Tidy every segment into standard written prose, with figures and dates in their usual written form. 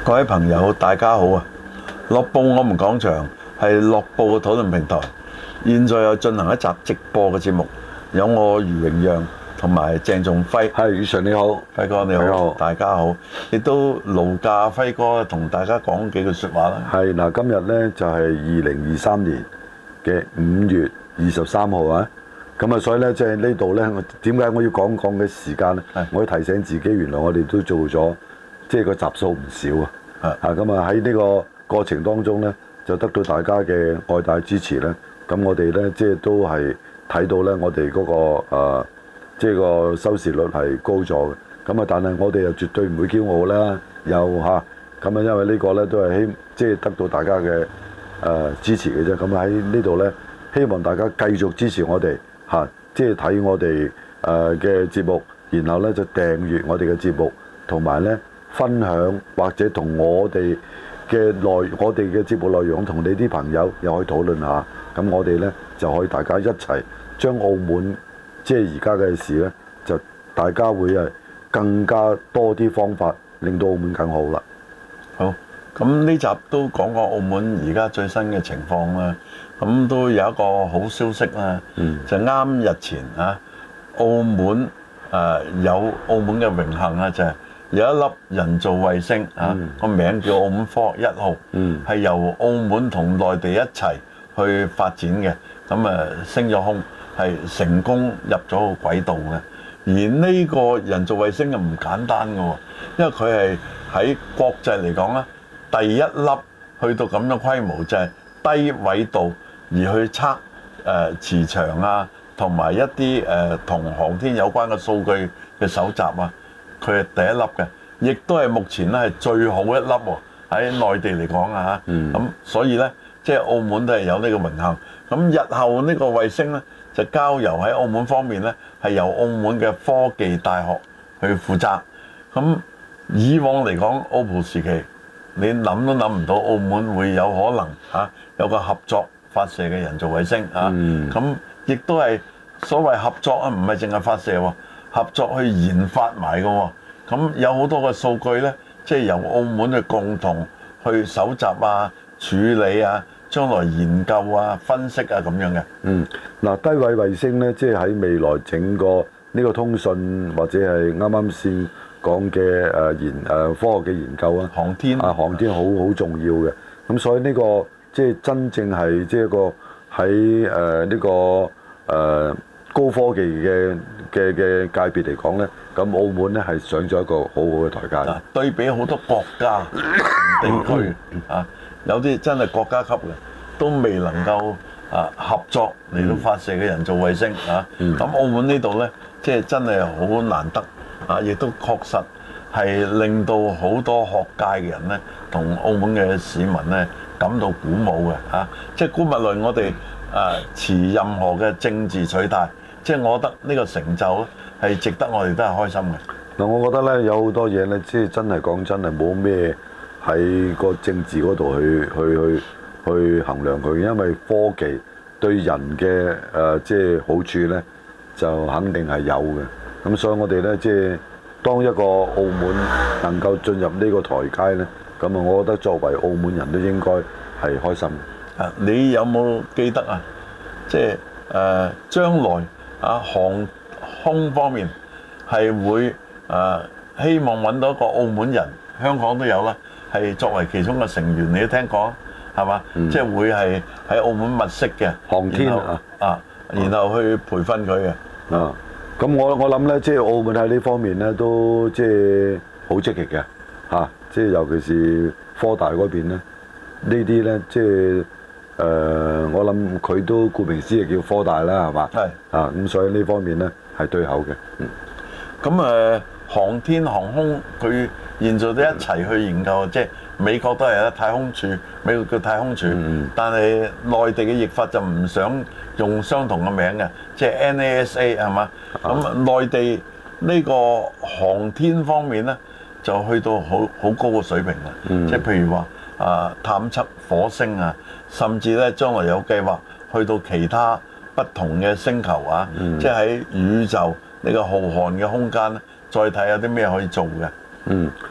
各位朋友，大家好啊！樂報我們講場係樂報嘅討論平台，現在又進行一集直播嘅節目，有我余榮讓同埋鄭仲輝。 係，宇常你好， 輝哥你好，大家好，亦都勞駕輝哥同大家講幾句説話啦。 係嗱，今日呢就係2023年嘅5月23號啊！咁啊，所以呢，即係呢度呢，點解我要講嘅時間呢？我要提醒自己，原來我哋都做咗即係個集數唔少啊！咁啊喺呢個過程當中呢，就得到大家嘅愛戴支持呢。咁我哋呢，即係都係睇到呢，我哋嗰個即係個收視率係高咗嘅。咁啊，但係我哋又絕對唔會驕傲啦，又咁啊，因為呢個呢，都係即係得到大家嘅支持嘅啫。咁喺呢度呢，希望大家繼續支持我哋即係睇我哋嘅節目，然後呢就訂閱我哋嘅節目，同埋呢分享或者同我哋嘅節目內容同你啲朋友又可以討論下。咁我哋呢就可以大家一齊將澳門即係而家嘅事呢，就大家會更加多啲方法令到澳門更好啦。 好，咁呢集都講過澳門而家最新嘅情況啦。咁都有一個好消息啦，就啱日前澳門有澳門嘅榮幸啊，就係有一粒人造衛星個名叫澳門科學1號，係由澳門同內地一齊去發展嘅，咁升咗空，係成功入咗個軌道嘅。而呢個人造衛星又唔簡單嘅喎，因為佢係喺國際嚟講咧，第一粒去到咁嘅規模，就係低緯度而去測磁場同埋一啲同航天有關嘅數據嘅搜集佢係第一粒嘅，亦都係目前咧係最好一粒喎，喺內地嚟講咁所以呢，即係澳門都係有呢個榮幸。咁日後呢個衛星呢，就交由喺澳門方面呢，係由澳門嘅科技大學去負責。咁以往嚟講，OPPO時期你諗都諗唔到澳門會有可能有個合作發射嘅人造衛星咁亦都係所謂合作唔係淨係發射喎，合作去研發埋嘅喎。咁有好多嘅數據呢，即係由澳門去共同去搜集處理將來研究分析咁樣嘅。 嗱，低軌衛星呢，即係喺未來整個呢個通訊或者係啱啱先講嘅科學嘅研究航天好重要嘅。咁所以呢個即係真正係即係一個喺呢個高科技嘅界別嚟講呢，咁澳門呢係上咗一個好好嘅台階。 對比好多國家地區有啲真係國家級嘅都未能夠合作嚟到發射嘅人造衛星咁澳門呢度呢，即係真係好難得亦都確實係令到好多學界嘅人呢，同澳門嘅市民呢感到鼓舞嘅即係姑勿論我哋持任何嘅政治取態，即係我覺得呢個成就咧係值得我哋都係開心嘅。 嗱，我覺得呢有好多嘢呢，即係真係講真係冇咩喺個政治嗰度去衡量佢，因為科技對人嘅即係好處呢，就肯定係有嘅。咁所以我哋呢，即係當一個澳門能夠進入呢個台階呢，咁我覺得作為澳門人都應該係開心嘅。 你有冇記得即係將來航空方面係會希望揾到一個澳門人，香港都有啦，係作為其中嘅成員，你都聽過係嘛？即係會係喺澳門物色嘅航天然後去培訓佢嘅。 咁我諗呢，即係澳門喺呢方面呢，都即係好積極嘅即係尤其是科大嗰邊呢，呢啲呢，即係我諗佢都顧名思義叫科大啦，係嘛？係咁所以呢方面呢，係對口嘅。 咁航天航空佢現在都一齊去研究，即係美國都係太空處，美國叫太空處，但係內地嘅譯法就唔想用相同嘅名嘅，即係 NASA 係嘛？咁內地呢個航天方面呢，就去到好高嘅水平啦，即係譬如話探測火星甚至咧將來有計劃去到其他不同嘅星球即係喺宇宙呢個浩瀚嘅空間咧，再睇有啲咩可以做嘅。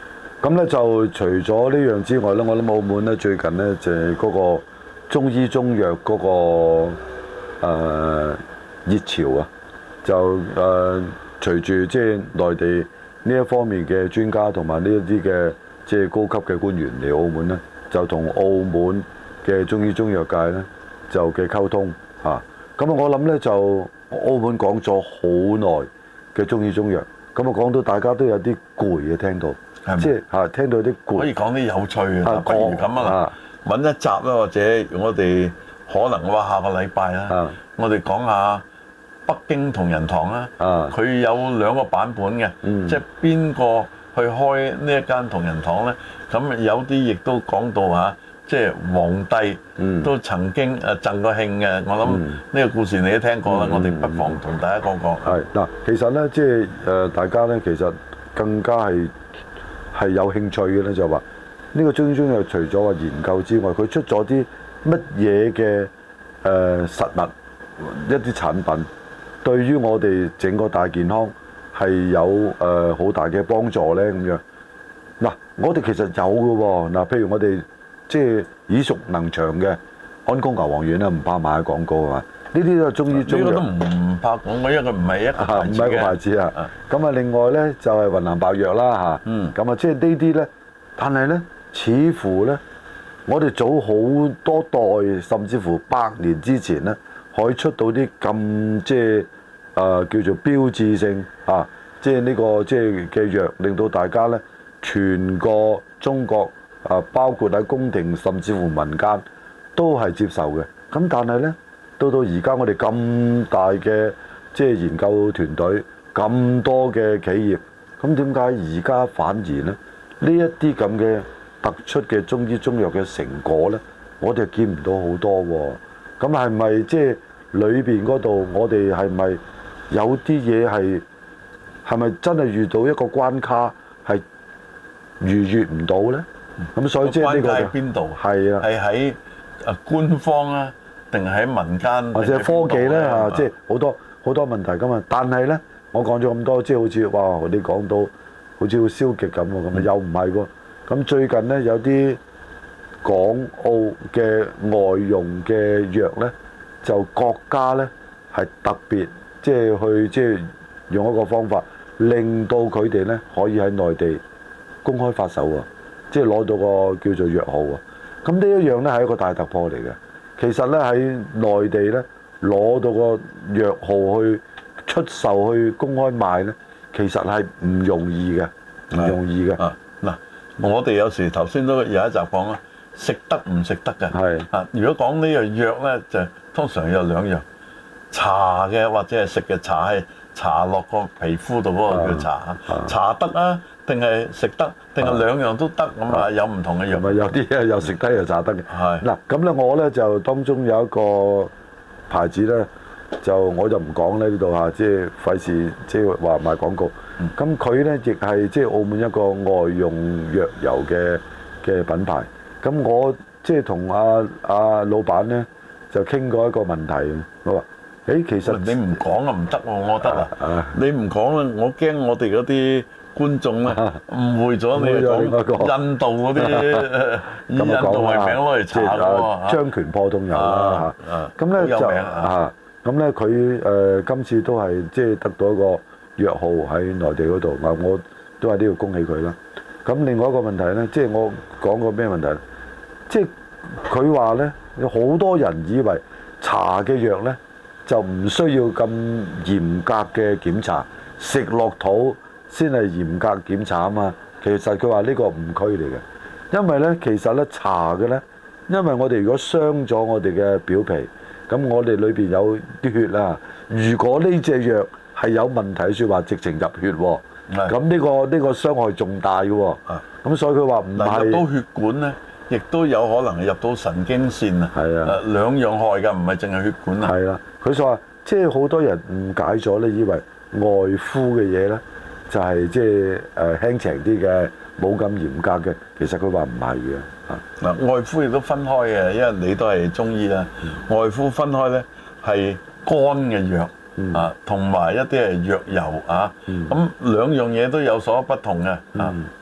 咁咧就除咗呢樣之外咧，我諗澳門咧最近咧就係嗰個中醫中藥嗰個熱潮啊，就隨住即係內地呢一方面嘅專家同埋呢一啲嘅即係高級嘅官員嚟澳門咧，就同澳門嘅中醫中藥界咧就嘅溝通嚇。咁我諗咧就澳門講咗好耐嘅中醫中藥，咁講到大家都有啲攰嘅聽到。即係聽到啲攰， 可以講啲有趣嘅，不如咁啊，揾一集啦，或者我哋可能話下個禮拜啦，我哋講下北京同仁堂啦，佢有2個版本嘅，即係邊個去開呢一間同仁堂咧？咁有啲亦都講到嚇，即係皇帝都曾經贈過慶嘅。我諗呢個故事你都聽過啦，我哋不妨同大家講講。 係嗱，其實咧即係大家咧其實更加係有興趣嘅咧，就話呢個中醫中藥除咗話研究之外，佢出咗啲乜嘢嘅實物一啲產品，對於我哋整個大健康係有好大嘅幫助咧咁樣。嗱，我哋其實有嘅喎，嗱，譬如我哋即係耳熟能詳嘅安宮牛黃丸啦，唔怕賣廣告啊嘛。呢啲都係中醫中藥， 呢個都唔怕講，因為佢唔係一個牌子嘅。唔係一個牌子啊。 咁啊，另外咧就係雲南白藥啦嚇。咁啊，即係呢啲咧，但係咧，似乎咧，我哋早好多代，甚至乎100年之前咧，可以出到啲咁即係叫做標誌性啊，即係呢個即係嘅藥，令到大家咧全個中國包括喺宮廷，甚至乎民間都係接受嘅。咁但係咧，到而家我哋咁大嘅即係研究團隊，咁多嘅企業，咁點解而家反而咧呢一啲咁嘅突出嘅中醫中藥嘅成果咧，我哋見唔到好多喎？咁係咪即係裏邊嗰度，我哋係咪有啲嘢係咪真係遇到一個關卡係逾越唔到咧？咁所以即係呢個關卡喺邊度？ 係啊， 係喺官方啊，定係喺民間， 或者科技咧嚇，即係好多問題㗎嘛。但係咧，我講咗咁多，即係好似哇，你講到好似好消極咁喎，咁又唔係喎。咁最近咧有啲港澳嘅外用嘅藥咧，就國家咧係特別即係去即係用一個方法，令到佢哋咧可以喺內地公開發售喎，即係攞到個叫做藥號喎。咁呢一樣咧係一個大突破嚟嘅。其實咧喺內地咧攞到個藥號去出售去公開賣咧，其實係唔容易嘅，唔容易嘅。 嗱，我哋有時頭先都有一集講啦，食得唔食得嘅。係啊，如果講呢樣藥咧，就通常有2樣，搽嘅或者係食嘅。搽係搽落個皮膚度嗰個叫搽，搽得啊，定係食得，定係2樣都得咁啊？有唔同嘅藥。 咪有啲又食得又搽得嘅。係嗱，咁咧我咧就當中有一個牌子咧，我就唔講咧呢度嚇，即係費事即係話賣廣告。咁佢咧亦係即係澳門一個外用藥油嘅品牌。咁我即係同阿老闆咧就傾過一個問題，我話：其實你唔講啊唔得喎，我覺得啊，你唔講啊，我驚我哋嗰啲觀眾咧誤會咗你講印度嗰啲以印度為名攞嚟搽喎， 張權破痛油啦嚇。咁咧就咁咧佢今次都係即係得到一個藥號喺內地嗰度，我都係都要恭喜佢啦。咁另外一個問題咧，即係我講過咩問題？即係佢話咧，有好多人以為搽嘅藥咧就唔需要咁嚴格嘅檢查，食落肚先係嚴格檢查啊嘛。其實佢話呢個誤區嚟嘅，因為咧其實咧搽嘅咧，因為我哋如果傷咗我哋嘅表皮，咁我哋裏邊有啲血啦。如果呢隻藥係有問題，説話直情入血喎，咁呢個傷害重大嘅喎。咁所以佢話唔係入到血管咧，亦都有可能係入到神經線啊。係啊，兩樣害㗎，唔係淨係血管啊。 係啦，佢就話即係好多人誤解咗咧，以為外敷嘅嘢咧就係即係輕情啲嘅，冇咁嚴格嘅。其實佢話唔係嘅。 嗱，外敷亦都分開嘅，因為你都係中醫啦。外敷分開咧係乾嘅藥啊，同埋一啲係藥油啊。咁2樣嘢都有所不同嘅啊。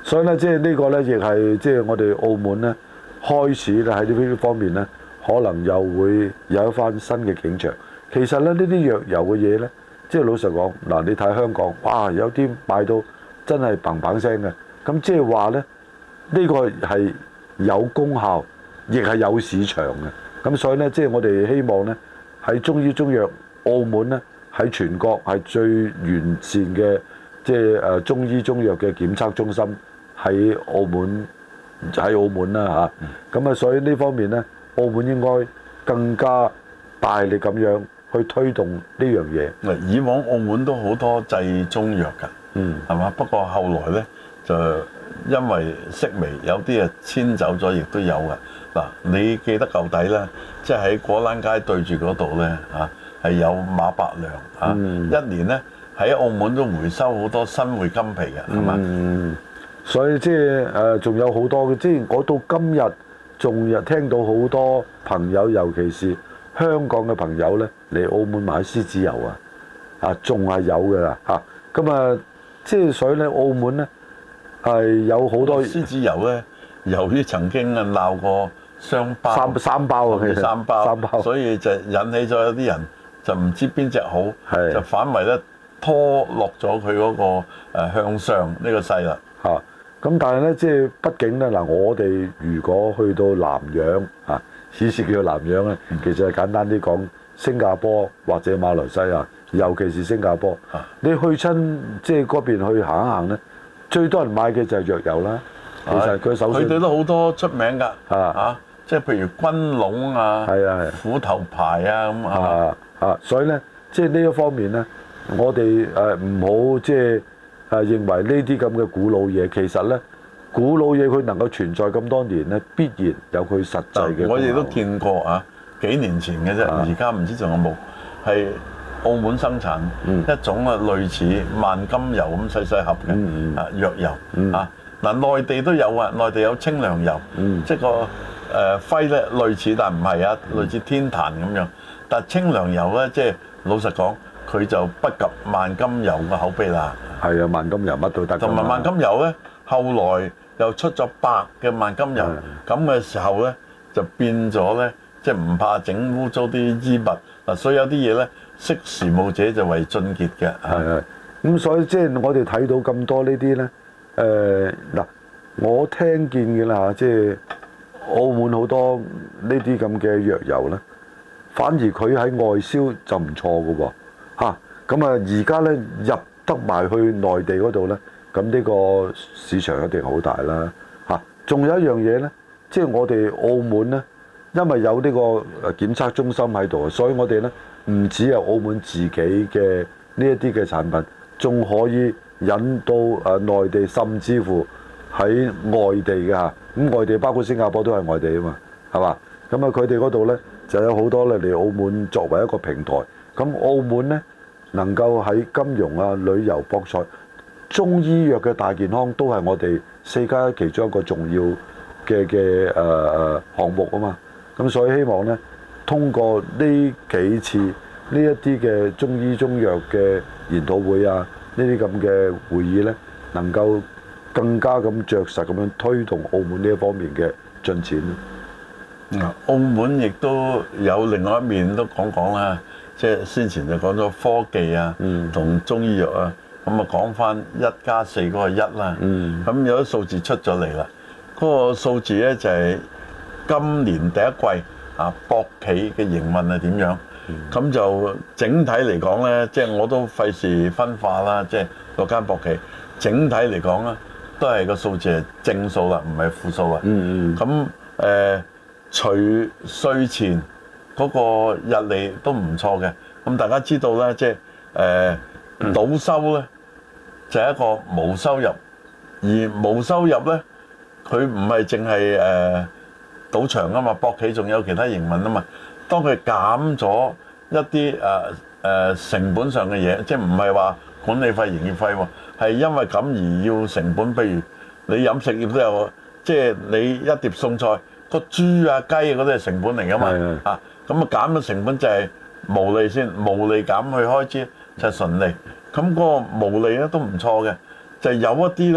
所以咧，即係呢個咧，亦係即係我哋澳門咧開始咧喺呢方面咧，可能又會有一番新嘅景象。其實咧，呢啲藥油嘅嘢咧，即係老實講，嗱，你睇香港，哇，有啲賣到真係砰砰聲嘅。咁即係話咧，呢個係有功效，亦係有市場嘅。咁所以咧，即係我哋希望咧，喺中醫中藥澳門咧，喺全國係最完善嘅，即係中醫中藥嘅檢測中心喺澳門啦嚇。咁所以呢方面咧，澳門應該更加大力咁樣去推動呢樣嘢。 以往澳門都好多製中藥㗎，係嘛？不過後來咧就因為式微，有啲遷走咗，亦都有㗎。嗱，你記得舊底咧，即係喺果欄街對住嗰度咧係有馬百良一年咧喺澳門都回收好多新會金皮嘅，係嘛？ 所以即係仲有好多嘅，即係我到今日仲聽到好多朋友，尤其是香港嘅朋友咧嚟澳門買獅子油仲係有嘅啦嚇。咁即係所以咧，澳門咧係有好多獅子油咧，由於曾經鬧過雙包三包啊，其實三包，所以就引起咗有啲人就唔知邊隻好，就反為咧拖落咗佢嗰個向上呢個勢啦嚇。咁但係咧，即係畢竟咧嗱，我哋如果去到南洋此時叫做南洋咧，其實係簡單啲講，新加坡或者馬來西亞，尤其是新加坡，你去親即係嗰邊去行一行咧，最多人買嘅就係藥油啦。其實佢首先佢哋都好多出名㗎即係譬如軍龍虎頭牌咁所以咧，即係呢一方面咧，我哋唔好即係認為呢啲咁嘅古老嘢，其實咧古老嘢佢能夠存在咁多年咧，必然有佢實際嘅。 我哋都見過幾年前嘅啫，而家唔知仲有冇係澳門生產一種類似萬金油咁細細盒嘅藥油嗱，內地都有內地有清涼油，即係個徽咧類似，但唔係類似天壇咁樣。但清涼油咧，即係老實講，佢就不及萬金油嘅口碑啦。 係啊，萬金油乜都得。 同埋萬金油咧，後來又出咗白嘅萬金油，咁嘅時候咧就變咗咧，即係唔怕整污糟啲衣物嗱。所以有啲嘢咧，識時務者就為俊傑嘅。 係咁所以即係我哋睇到咁多呢啲咧，嗱，我聽見嘅啦，即係澳門好多呢啲咁嘅藥油咧，反而佢喺外銷就唔錯嘅喎咁而家咧入得埋去內地嗰度咧，咁呢個市場一定好大啦仲有一樣嘢咧，即係我哋澳門咧，因為有呢個檢測中心喺度，所以我哋咧唔止係澳門自己嘅呢一啲嘅產品，仲可以引到內地，甚至乎喺外地嘅咁外地包括新加坡都係外地啊嘛，係嘛？咁佢哋嗰度咧就有好多嚟澳門作為一個平台。咁澳門咧能夠喺金融旅遊、博彩、中醫藥嘅大健康都係我哋4+1其中一個重要嘅項目啊嘛。咁所以希望咧通過呢幾次呢一啲嘅中醫中藥嘅研討會呢啲咁嘅會議咧，能夠更加咁着實咁樣推動澳門呢一方面嘅進展。 澳門亦都有另外一面都講講啦，即係先前就講咗科技同中醫藥咁講翻1+4嗰個1啦。咁有啲數字出咗嚟啦，嗰個數字咧就係今年第一季博企嘅營運係點樣？咁就整體嚟講咧，即係我都費事分化啦，即係嗰間博企整體嚟講咧，都係個數字係正數啦，唔係負數啦。咁除稅前嗰個日利都唔錯嘅。咁大家知道咧，即係賭收咧就係一個無收入，而無收入咧佢唔係淨係賭場啊嘛，博企仲有其他營運啊嘛。當佢減咗一啲成本上嘅嘢，即係唔係話管理費、營業費喎，係因為咁而要成本。譬如你飲食業都有，即係你一碟餸菜，個豬雞嗰啲係成本嚟噶嘛。咁減咗成本就係毛利先，毛利減去開支就係純利。咁嗰個毛利咧都唔錯嘅，就係有一啲咧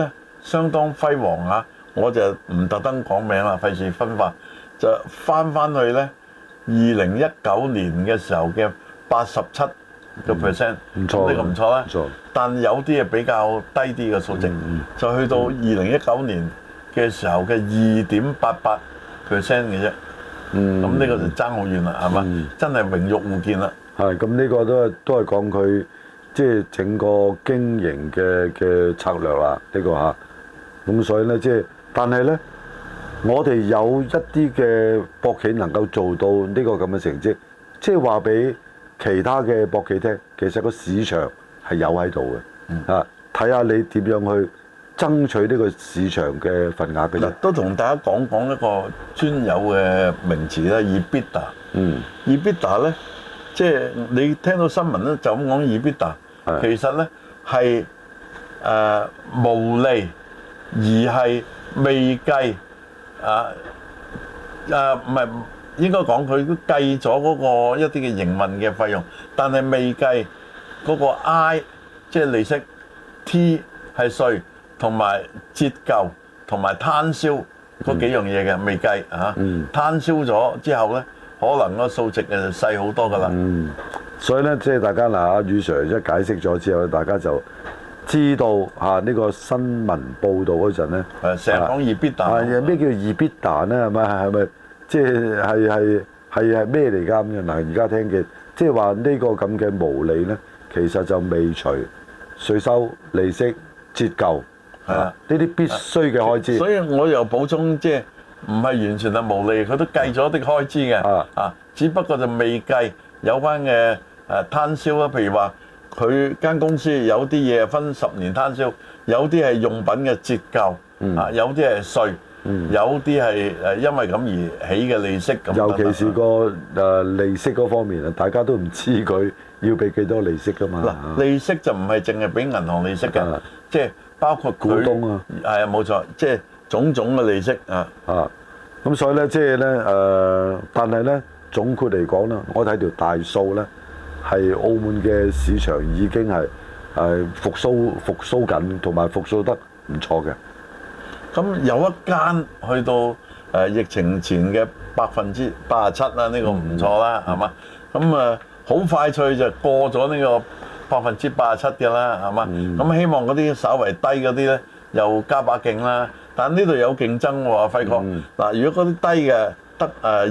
相當輝煌啊！我就唔特登講名啦，費事分化，就翻去咧2019年嘅時候嘅87%， 唔錯， 呢個唔錯啦。 唔錯， 但有啲係比較低啲嘅數值，就去到2019年嘅時候嘅2.88%嘅啫。咁呢個就爭好遠啦，係嘛？真係榮辱互見啦。 係咁，呢個都係講佢即係整個經營嘅策略啦，呢個嚇。咁所以咧，即係但係咧，我哋有一啲嘅博企能夠做到呢個咁嘅成績，即係話俾其他嘅博企聽，其實個市場係有喺度嘅。睇下你點樣去爭取呢個市場嘅份額嘅啫。 都同大家講一個專有嘅名詞啦，EBITDA。EBITDA 咧，即係你聽到新聞咧就咁講 EBITDA，其實咧係無利。而係未計唔係應該講佢都計咗嗰個一啲嘅營運嘅費用，但係未計嗰個 I 即係利息 ，T 係稅同埋折舊同埋攤銷嗰幾樣嘢嘅未計嚇。攤銷咗之後咧，可能個數值就細好多㗎啦。 所以咧，即係大家嗱，阿宇 Sir 一解釋咗之後，大家就知道呢個新聞報導嗰陣咧， 成日講 EBITDA， 咩叫 EBITDA 咧？係咪即係咩嚟㗎咁樣？嗱，而家聽嘅即係話呢個咁嘅毛利咧，其實就未除稅收、利息、折舊，呢啲必須嘅開支。 所以我又補充，即係唔係完全係毛利，佢都計咗啲開支嘅。只不過就未計有關嘅攤銷啦，譬如話。佢間公司有啲嘢分10年攤銷，有啲係用品嘅折舊，有啲係稅，有啲係因為咁而起嘅利息咁。 尤其是個利息嗰方面啊，大家都唔知佢要俾幾多利息㗎嘛。 嗱，利息就唔係淨係俾銀行利息嘅，即係包括股東啊， 係啊冇錯，即係種種嘅利息啊。 咁所以咧，即係咧但係咧總括嚟講啦，我睇條大數咧。係澳門嘅市場已經係復甦緊，同埋復甦得唔錯嘅。 咁有一間去到疫情前嘅87%啦，呢個唔錯啦，係嘛？咁好快脆就過咗呢個87%嘅啦，係嘛？咁希望嗰啲稍為低嗰啲咧，又加把勁啦。但呢度有競爭喎，輝哥。嗱，如果嗰啲低嘅得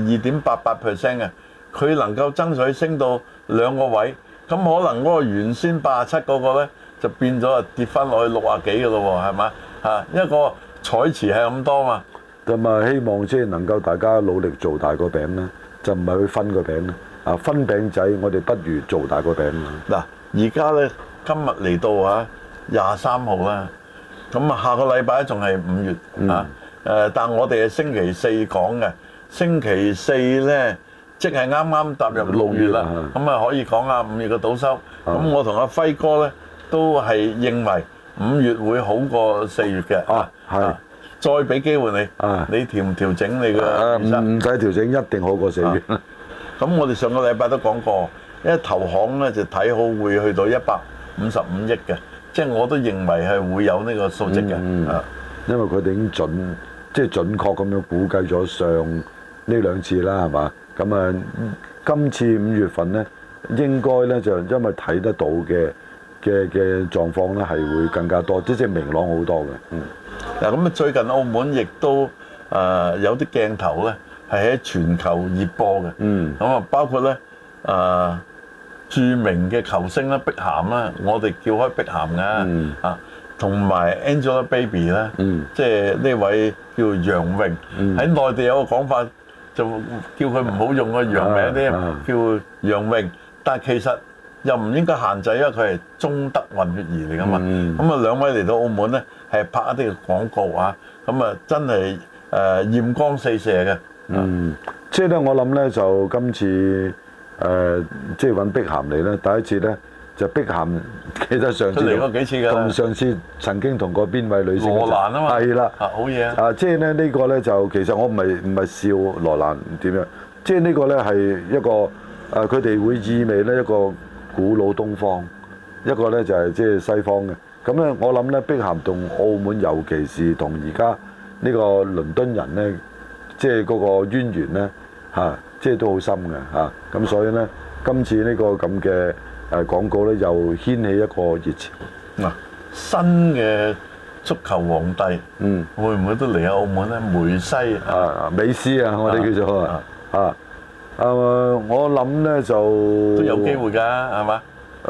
2.88% 嘅，佢能夠爭取升到2個位，咁可能嗰個原先87嗰個咧就變咗跌翻落去60幾嘅咯喎，係嘛？一個彩池係咁多嘛。 咁希望即係能夠大家努力做大個餅啦，就唔係去分個餅啦。分餅仔，我哋不如做大個餅。 嗱，而家咧今日嚟到23號啦，咁下個禮拜仲係5月但我哋係星期四講嘅，星期四咧。即係啱啱踏入6月啦，咁可以講下5月嘅賭收。咁我同阿輝哥咧都係認為5月會好過4月嘅。再俾機會你，你調唔調整你嘅？ 唔使調整，一定好過4月。 咁我哋上個禮拜都講過，因為投行咧就睇好會去到155億嘅，即係我都認為係會有呢個數值嘅。 因為佢哋已經即係準確咁樣估計咗上呢2次啦，係嘛？咁今次5月份咧，應該咧就因為睇得到嘅狀況咧，係會更加多，即係明朗好多嘅。 嗱，咁最近澳門亦都有啲鏡頭咧係喺全球熱播嘅。咁包括咧著名嘅球星啦，碧咸啦，我哋叫開碧咸嘅同埋 Angelababy 啦，即係呢位叫楊穎，喺內地有個講法。就叫佢唔好用個洋名添，叫楊穎。但係其實又唔應該限制，因為佢係中德混血兒嚟㗎嘛。咁兩位嚟到澳門咧，係拍一啲嘅廣告咁真係豔光四射嘅。 即係咧，我諗咧就今次即係揾碧咸嚟咧，第一次咧就碧咸記得上次嚟過幾次㗎， 同上次曾經同過邊位女星？羅蘭啊嘛， 係啦， 好嘢即係咧呢個咧就其實我唔係笑羅蘭點樣，即係呢個咧係一個佢哋會意味咧一個古老東方，一個咧就係即係西方嘅。 咁咧，我諗咧，碧咸同澳門，尤其是同而家呢個倫敦人咧，即係嗰個淵源咧嚇，即係都好深嘅嚇。咁所以咧，今次呢個咁嘅廣告咧，又掀起一個熱潮。 嗱，新嘅足球皇帝，會唔會都嚟澳門咧？梅西美斯啊，我哋叫做我諗咧就都有機會㗎，係嘛？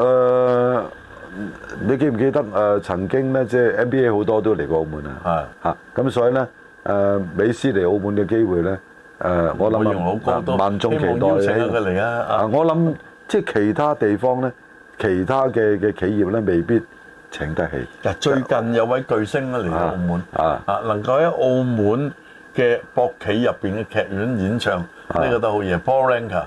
你記唔記得曾經咧，即係 NBA 好多都嚟過澳門啊？咁所以咧美斯嚟澳門嘅機會咧，我諗萬眾期待。希望邀請佢嚟啊！我諗即係其他地方咧，其他嘅企業咧，未必請得起。 最近有位巨星咧嚟到澳門，能夠喺澳門嘅博企入邊嘅劇院演唱，呢個都好嘢。Paul Anka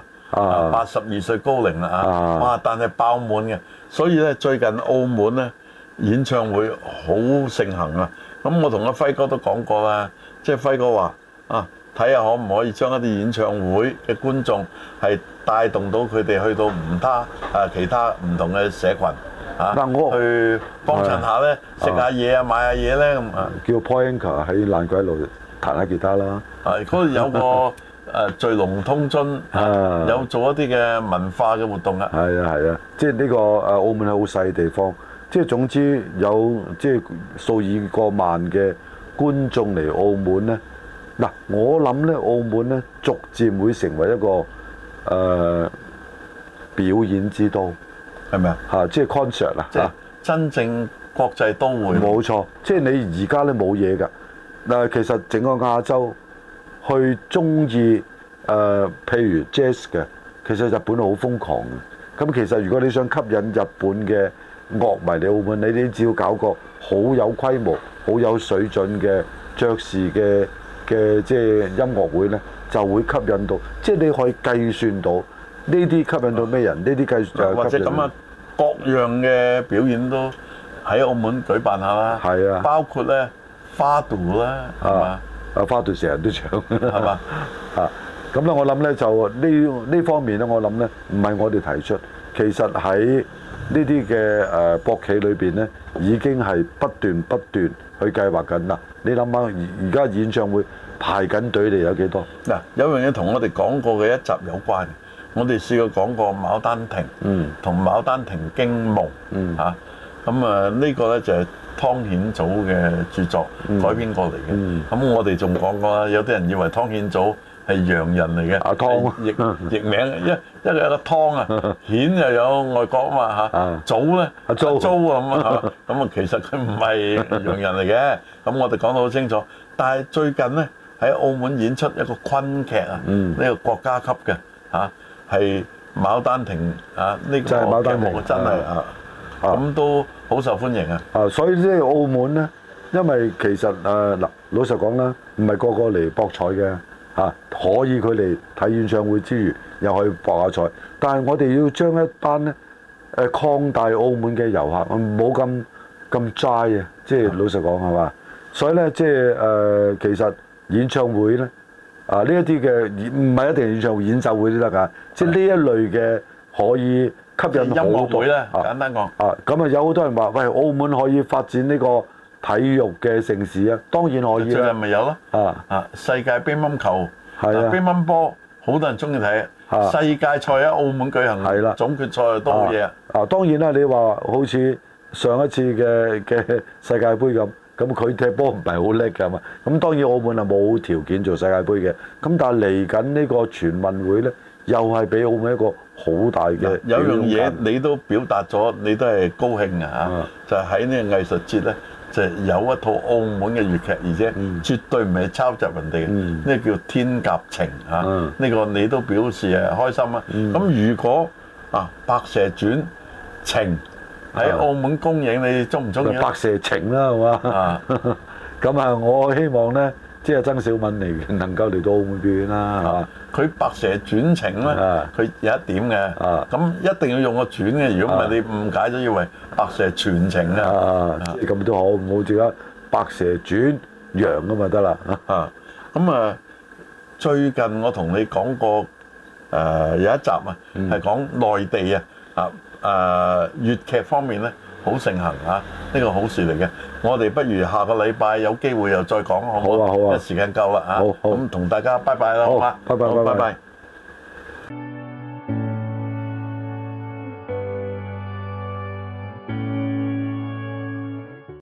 82歲高齡啦哇！但係爆滿嘅，所以咧最近澳門咧演唱會好盛行啊！咁我同阿輝哥都講過啦，即係輝哥話睇下可唔可以將一啲演唱會嘅觀眾係帶動到佢哋去到其他唔同嘅社群去幫襯下咧，食下嘢買下嘢咧咁叫 Paul Anka 喺爛鬼路彈下吉他啦。 嗰度有個聚龍通津，有做一啲嘅文化嘅活動啊。 係啊，即係呢個澳門係好細地方，即係總之有即係數以過萬嘅觀眾嚟澳門咧。嗱，我諗咧澳門咧逐漸會成為一個表演之都，係咪啊？即係 concert 啊，即係真正國際都會。 冇錯，即係你而家咧冇嘢㗎。嗱，其實整個亞洲去中意譬如 jazz 嘅，其實日本好瘋狂嘅。咁其實如果你想吸引日本嘅樂迷嚟澳門，你只要搞個好有規模、好有水準嘅爵士嘅即係音樂會咧，就會吸引到。即係你可以計算到呢啲吸引到咩人？呢啲計算或者咁啊，各樣嘅表演都喺澳門舉辦下啦。 係啊， 包括咧花道啦，係嘛？ 花道成日都唱， 係嘛？ 咁咧，我諗咧就呢方面咧，我諗咧唔係我哋提出，其實喺呢啲嘅博企裏邊咧，已經係不斷去計劃緊啦。你諗下，而家演唱會排緊隊嚟有幾多？ 嗱，有樣嘢同我哋講過嘅一集有關，我哋試過講過《牡丹亭》同《牡丹亭驚夢》咁呢個咧就係湯顯祖嘅著作改編過嚟嘅。咁我哋仲講過啦，有啲人以為湯顯祖係洋人嚟嘅，譯名，一個有個湯啊，顯又有外國啊嘛嚇，祖咧租咁其實佢唔係洋人嚟嘅。咁我哋講得好清楚。但係最近咧喺澳門演出一個昆劇呢個國家級嘅係牡丹亭呢個劇目真係咁都好受歡迎啊！ 所以即係澳門咧，因為其實嗱老實講啦，唔係個個嚟博彩嘅可以佢嚟睇演唱會之餘，又可以博下彩。但係我哋要將一班咧擴大澳門嘅遊客，唔好咁齋啊！即係老實講係嘛？所以咧即係其實演唱會咧呢一啲嘅唔係一定演唱會，演奏會都得㗎。即係呢一類嘅可以吸引好多音樂會咧，簡單講咁有好多人話喂，澳門可以發展呢個體育嘅盛事啊，當然可以啦。 最近咪有咯世界乒乓球乒乓波好多人中意睇世界賽喺澳門舉行，係啦，總決賽都好嘢當然啦，你話好似上一次嘅世界盃咁佢踢波唔係好叻㗎嘛。咁當然澳門係冇條件做世界盃嘅。咁但係嚟緊呢個全運會咧，又係俾澳門一個好大嘅有樣嘢你都表達咗，你都係高興就係喺呢個藝術節咧，就有一套澳門嘅粵劇，而且絕對唔係抄襲人哋嘅，呢個叫《天鴿情》呢個你都表示開心啊！咁如果《白蛇傳》情喺澳門公映，你中唔中意？ 白蛇情啦，係嘛？咁我希望咧，即係曾小敏能夠嚟到澳門表演啦，係嘛？ 佢白蛇傳情咧，佢有一點嘅，咁一定要用個傳嘅，如果唔係你誤解咗以為白蛇傳情啊， 咁都好，唔好似而家白蛇傳羊咁咪得啦。 咁最近我同你講過有一集係講內地粵劇方面咧好盛行啊，呢個好事嚟嘅。我哋不如下個禮拜有機會又再講好唔好？ 好啊好啊， 時間夠啦嚇， 好， 咁同大家拜拜啦，好嘛？ 拜拜。